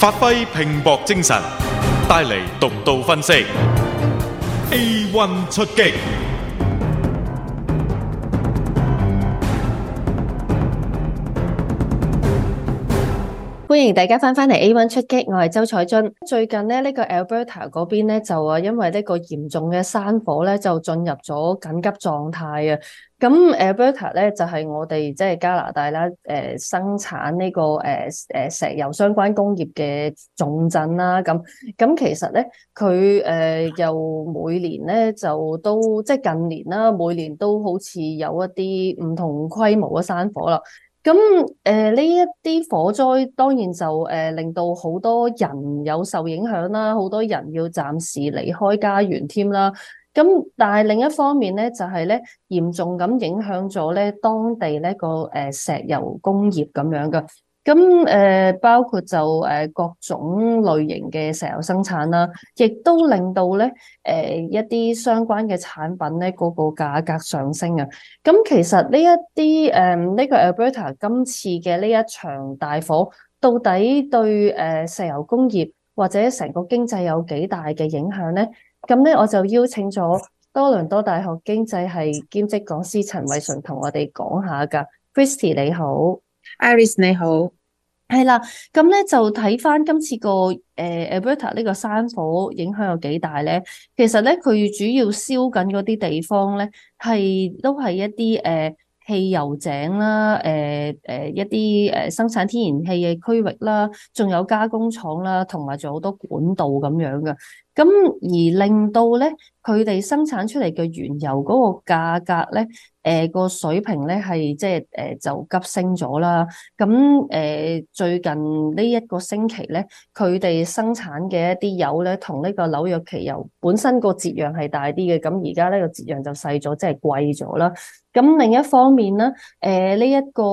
發揮拼搏精神，帶嚟獨到分析。A1 出擊。 歡迎大家翻嚟 A1 出擊，我係周彩津。最近呢個 Alberta 嗰邊咧就因為呢個嚴重嘅山火咧就進入咗緊急狀態啊。咁 Alberta 咧就係我哋即係加拿大啦，生產呢個石油相關工業嘅重鎮啦。咁其實咧佢又每年咧就都即係近年啦，每年都好似有一啲唔同規模嘅山火啦。咁呢一啲火災當然就令到好多人有受影響啦，好多人要暫時離開家園添啦。咁但係另一方面咧，就係咧嚴重咁影響咗咧當地呢個石油工業咁樣噶。咁包括就各種類型嘅石油生產啦，亦都令到咧一啲相關嘅產品咧嗰個價格上升啊。咁其實呢一啲呢個 Alberta 今次嘅呢一場大火，到底對石油工業或者成個經濟有幾大嘅影響咧？咁咧我就邀請咗多倫多大學經濟系兼職講師陳偉純同我哋講下噶。Christy 你好。 Iris 你好。 係啦，咁咧就睇翻今次個Alberta 呢個山火影響有幾大咧？其實咧佢主要燒緊嗰啲地方咧，都係一啲汽油井啦，一啲生產天然氣嘅區域啦，仲有加工廠啦，同埋仲有好多管道咁樣嘅。咁而令到咧佢哋生產出嚟嘅原油嗰個價格咧，個水平咧係即係就急升咗啦。咁最近呢一個星期咧，佢哋生產嘅一啲油咧，同呢個紐約期油本身個折讓係大啲嘅，咁而家呢個折讓就細咗，即係貴咗啦。咁另一方面咧，呢一個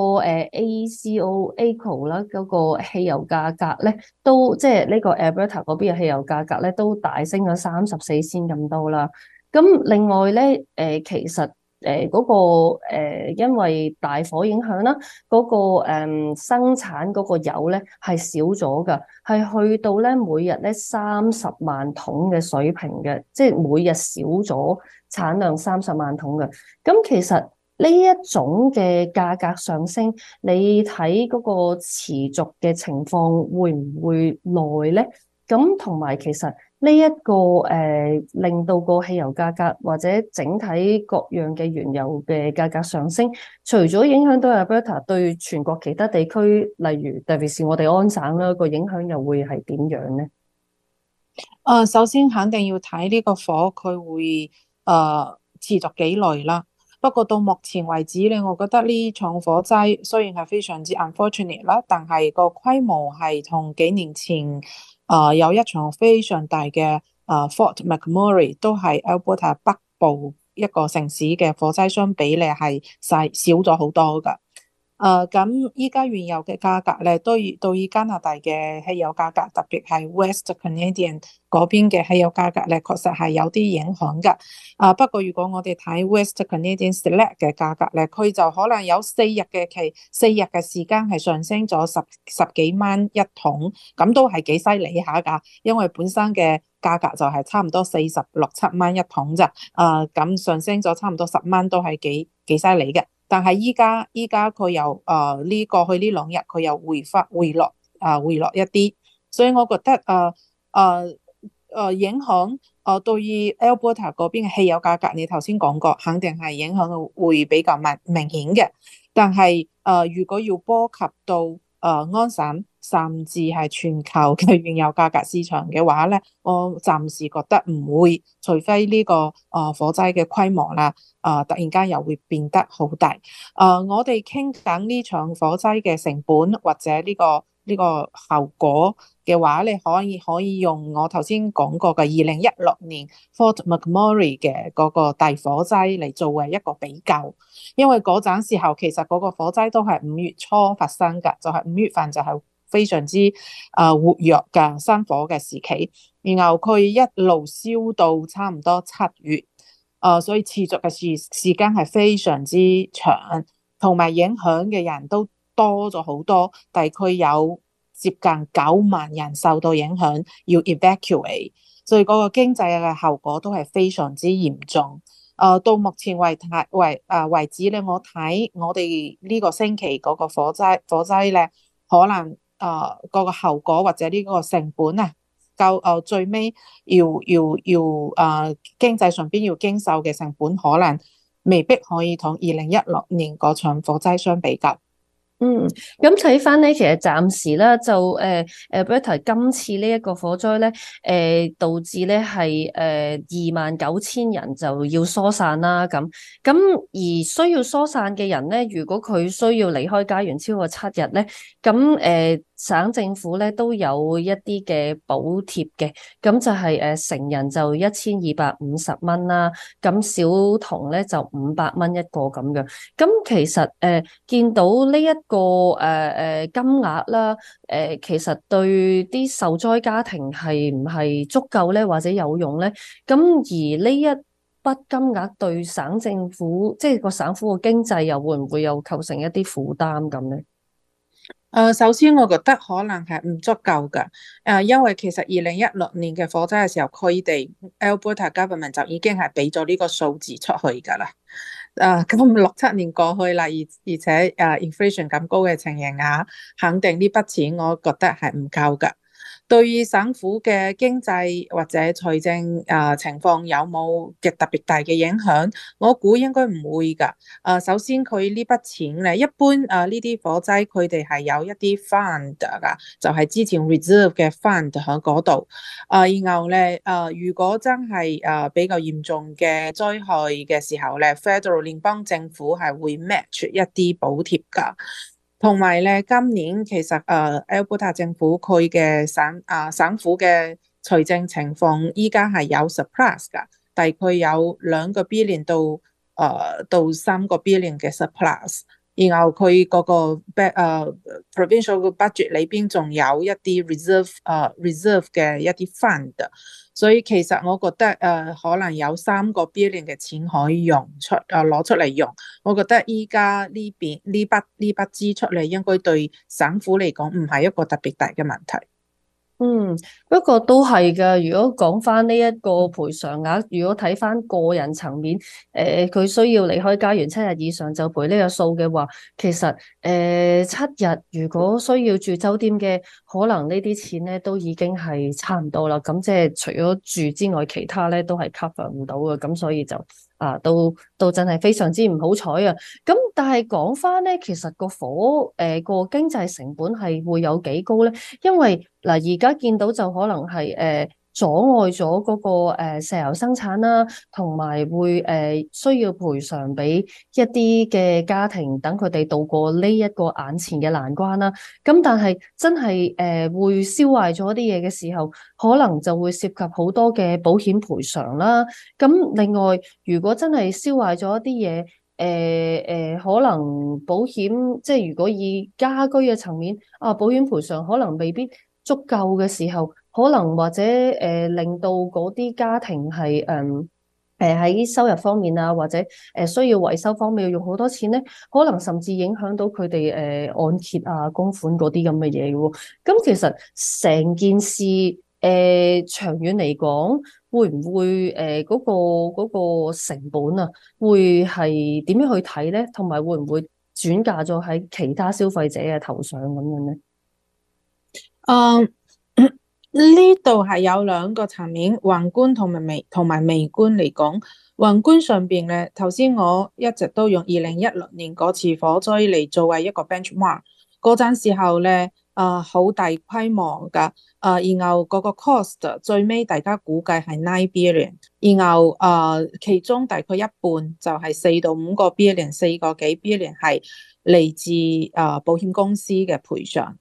AECO 啦嗰個汽油價格咧，都即係呢個 Alberta 嗰邊嘅汽油價格咧，都大升咗34仙咁多啦。咁另外咧，其實嗰個因為大火影響啦，嗰個生產嗰個油咧係少咗噶，係去到咧每日咧30萬桶嘅水平嘅，即係每日少咗產量30萬桶嘅。咁其實呢一種嘅價格上升，你睇嗰個持續嘅情況會唔會耐咧？咁同埋其實呢一個令到個汽油價格或者整體各樣嘅原油嘅價格上升，除咗影響到 Alberta， 對全國其他地區，例如特別是我哋安省啦，個影響又會係點樣呢？ 首先肯定要睇呢個火佢會持續幾耐啦。不過到目前為止咧，我覺得呢場火災雖然係非常之 unfortunate 啦，但係個規模係同幾年前有一場非常大嘅Fort McMurray 都係 Alberta 北部一個城市嘅火災相比咧係少咗好多噶。咁依家原油嘅價格咧，對於加拿大嘅汽油價格，特別係 West Canadian 嗰邊嘅汽油價格咧，確實係有啲影響噶。不過如果我哋睇 West Canadian Select 嘅價格咧，佢就可能有4日嘅時間係上升咗十幾蚊一桶，咁都係幾犀利下噶。因為本身嘅價格就係差唔多46-47蚊一桶咋，咁上升咗差唔多10蚊，都係幾犀利嘅。但係依家佢又過去呢2日佢又回落一啲，所以我覺得影響對於 Alberta 嗰邊嘅汽油價格，你頭先講過，肯定係影響會比較明顯嘅。但係如果要波及到安省甚至係全球嘅原油價格市場嘅話咧，我暫時覺得唔會，除非呢個火災嘅規模啦突然間又會變得好大。我哋傾緊呢場火災嘅成本或者呢個後果嘅話，你可以用我頭先講過嘅2016年 Fort McMurray 嘅嗰個大火災嚟作為一個比較，因為嗰陣時候其實嗰個火災都係5月初發生㗎，就係5月份就係非常之活躍嘅山火嘅時期，然後佢一路燒到差唔多7月，所以持續嘅時間係非常之長，同埋影響嘅人都多咗好多，大概有接近9萬人受到影響，要 evacuate， 所以嗰個經濟嘅後果都係非常之嚴重。到目前為止咧，我睇我哋呢個星期嗰個火災咧，可能嗰個後果或者呢個成本啊，最尾要經濟上邊要經受嘅成本，可能未必可以同2016年嗰場火災相比較。 咁睇翻咧，其實暫時咧就Alberta 今次呢一個火災咧，導致咧係29,000人就要疏散啦。咁而需要疏散嘅人咧，如果佢需要離開家園超過7日咧，咁省政府咧都有一啲嘅補貼嘅，咁就係成人就1250蚊啦，咁小童咧就500蚊一個咁樣。咁其實見到呢一個金額啦，其實對啲受災家庭係唔係足夠咧，或者有用咧？咁而呢一筆金額對省政府，即係個省府嘅經濟又會唔會有構成一啲負擔咁咧？ 首先我覺得可能係唔足夠噶，因為其實2016年嘅火災嘅時候，佢哋 Alberta Government 就已經係俾咗呢個數字出去噶啦。咁6-7年過去啦，而且inflation 咁高嘅情形下，肯定呢筆錢我覺得係唔夠噶。對於省府嘅經濟或者財政情況有冇嘅特別大嘅影響？我估應該唔會㗎。首先佢呢筆錢咧，一般呢啲火災佢哋係有一啲 fund 㗎，就係之前 reserve 嘅 fund 喺嗰度。然後咧如果真係比較嚴重嘅災害嘅時候咧，Federal 聯邦政府係會 match 一啲補貼㗎。同埋咧，今年其實Alberta 政府佢嘅省府嘅財政情況依家係有 surplus 㗎，大概有2個 billion 到3個 billion 嘅 surplus。然後佢嗰個provincial 嘅 budget 裏邊仲有一啲 reserve 嘅一啲 fund， 所以其實我覺得可能有3個 billion 嘅錢可以攞出嚟用。我覺得依家呢筆支出咧，應該對省府嚟講唔係一個特別大嘅問題。 不過都係噶。如果講翻呢一個賠償額，如果睇翻個人層面，佢需要離開家園7日以上就賠呢個數嘅話，其實7日如果需要住酒店嘅，可能呢啲錢咧都已經係差唔多啦。咁即係除咗住之外，其他咧都係 cover 唔到嘅。咁所以就都真係非常之唔好彩啊！咁但係講翻咧，其實個個經濟成本係會有幾高咧？因為而家見到就可能係阻礙咗嗰個石油生產啦，同埋會需要賠償俾一啲嘅家庭，等佢哋渡過呢一個眼前嘅難關啦。咁但係真係會燒壞咗啲嘢嘅時候，可能就會涉及好多嘅保險賠償啦。咁另外，如果真係燒壞咗一啲嘢，可能保險即係如果以家居嘅層面保險賠償可能未必足夠嘅時候，可能或者令到嗰啲家庭係喺收入方面啊，或者需要維修方面要用好多錢咧，可能甚至影響到佢哋按揭啊、供款嗰啲咁嘅嘢嘅喎。咁其實成件事長遠嚟講，會唔會嗰個成本啊，會係點樣去睇咧？同埋會唔會轉嫁咗喺其他消費者嘅頭上咁樣咧？ 呢度係有2個層面，宏觀同埋微觀嚟講。宏觀上邊咧，頭先我一直都用2016年嗰次火災嚟作為一個 benchmark。嗰陣時候咧，好大規模噶，然後嗰個 cost 最尾大家估計係9 billion， 然後其中大概一半就係4到5個 billion， 4個幾 billion 係嚟自保險公司嘅賠償。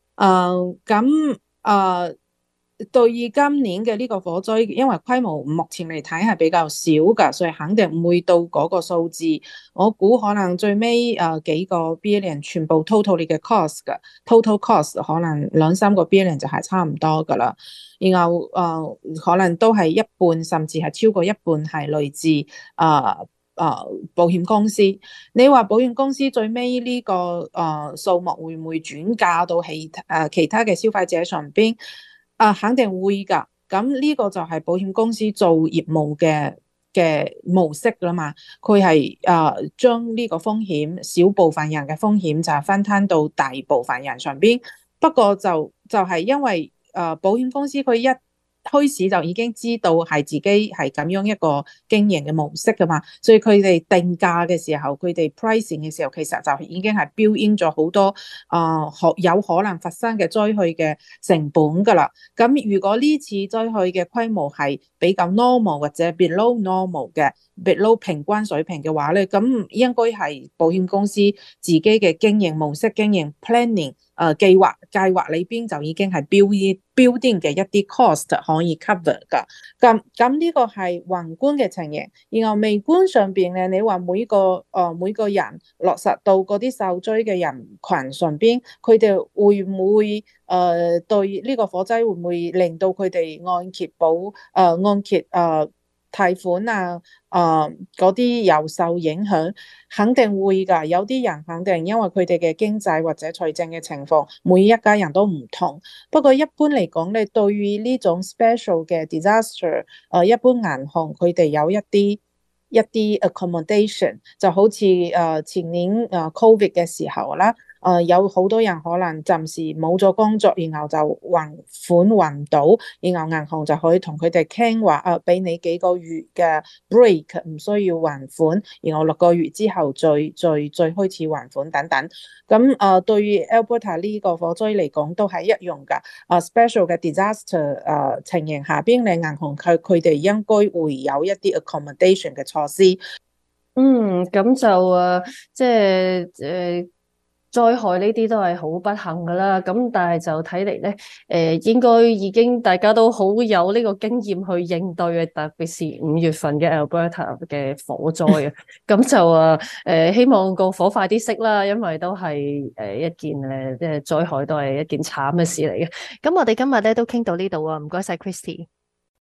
對於今年嘅呢個火災，因為規模目前嚟睇係比較少㗎，所以肯定唔會到嗰個數字。我估可能最尾幾個 billion 全部 total 嘅 cost 㗎，total cost 可能2-3個 billion 就係差唔多㗎啦。然後可能都係一半甚至係超過一半係來自保險公司。你話保險公司最尾呢個數目會唔會轉嫁到其他嘅消費者上邊？肯定會㗎。咁呢個就係保險公司做業務嘅模式啦嘛。佢係將呢個風險，小部分人嘅風險就係分攤到大部分人上邊。不過就係因為保險公司佢一開始就已經知道係自己係咁樣一個經營嘅模式噶嘛，所以佢哋定價嘅時候，佢哋 pricing 嘅時候，其實就已經係 build in 咗好多有可能發生嘅災害嘅成本噶啦。咁如果呢次災害嘅規模係比較 normal 或者 below normal 嘅 below 平均水平嘅話咧，咁應該係保險公司自己嘅經營模式、經營 planning 計劃裏邊就已經係 building 嘅一啲 cost 可以 cover 噶。咁呢個係宏觀嘅情形，然後微觀上邊咧，你話每個人落實到嗰啲受災嘅人群上邊，佢哋會唔會對呢個火災會唔會令到佢哋按揭貸款嗰啲又受影響？肯定會㗎。有啲人肯定因為佢哋嘅經濟或者財政嘅情況，每一家人都唔同。不過一般嚟講咧，對於呢種 special 嘅 disaster，一般銀行佢哋有一啲 accommodation， 就好似前年COVID 嘅時候啦。有好多人可能暫時冇咗工作，然後就還唔到，然後銀行就可以同佢哋傾話，俾你幾個月嘅 break， 唔需要還款，然後6個月之後再開始還款等等。咁對於 Alberta 呢個火災嚟講都係一樣噶。special 嘅 disaster 情形下邊，你銀行佢哋應該會有一啲 accommodation 嘅措施。 咁就即係災害呢啲都係好不幸噶啦，咁但係就睇嚟咧，應該已經大家都好有呢個經驗去應對嘅，特別是5月份嘅 Alberta 嘅火災啊，咁就希望個火快啲熄啦，因為都係一件即係災害都係一件慘嘅事嚟嘅。咁我哋今日咧都傾到呢度啊，唔該晒 Christy。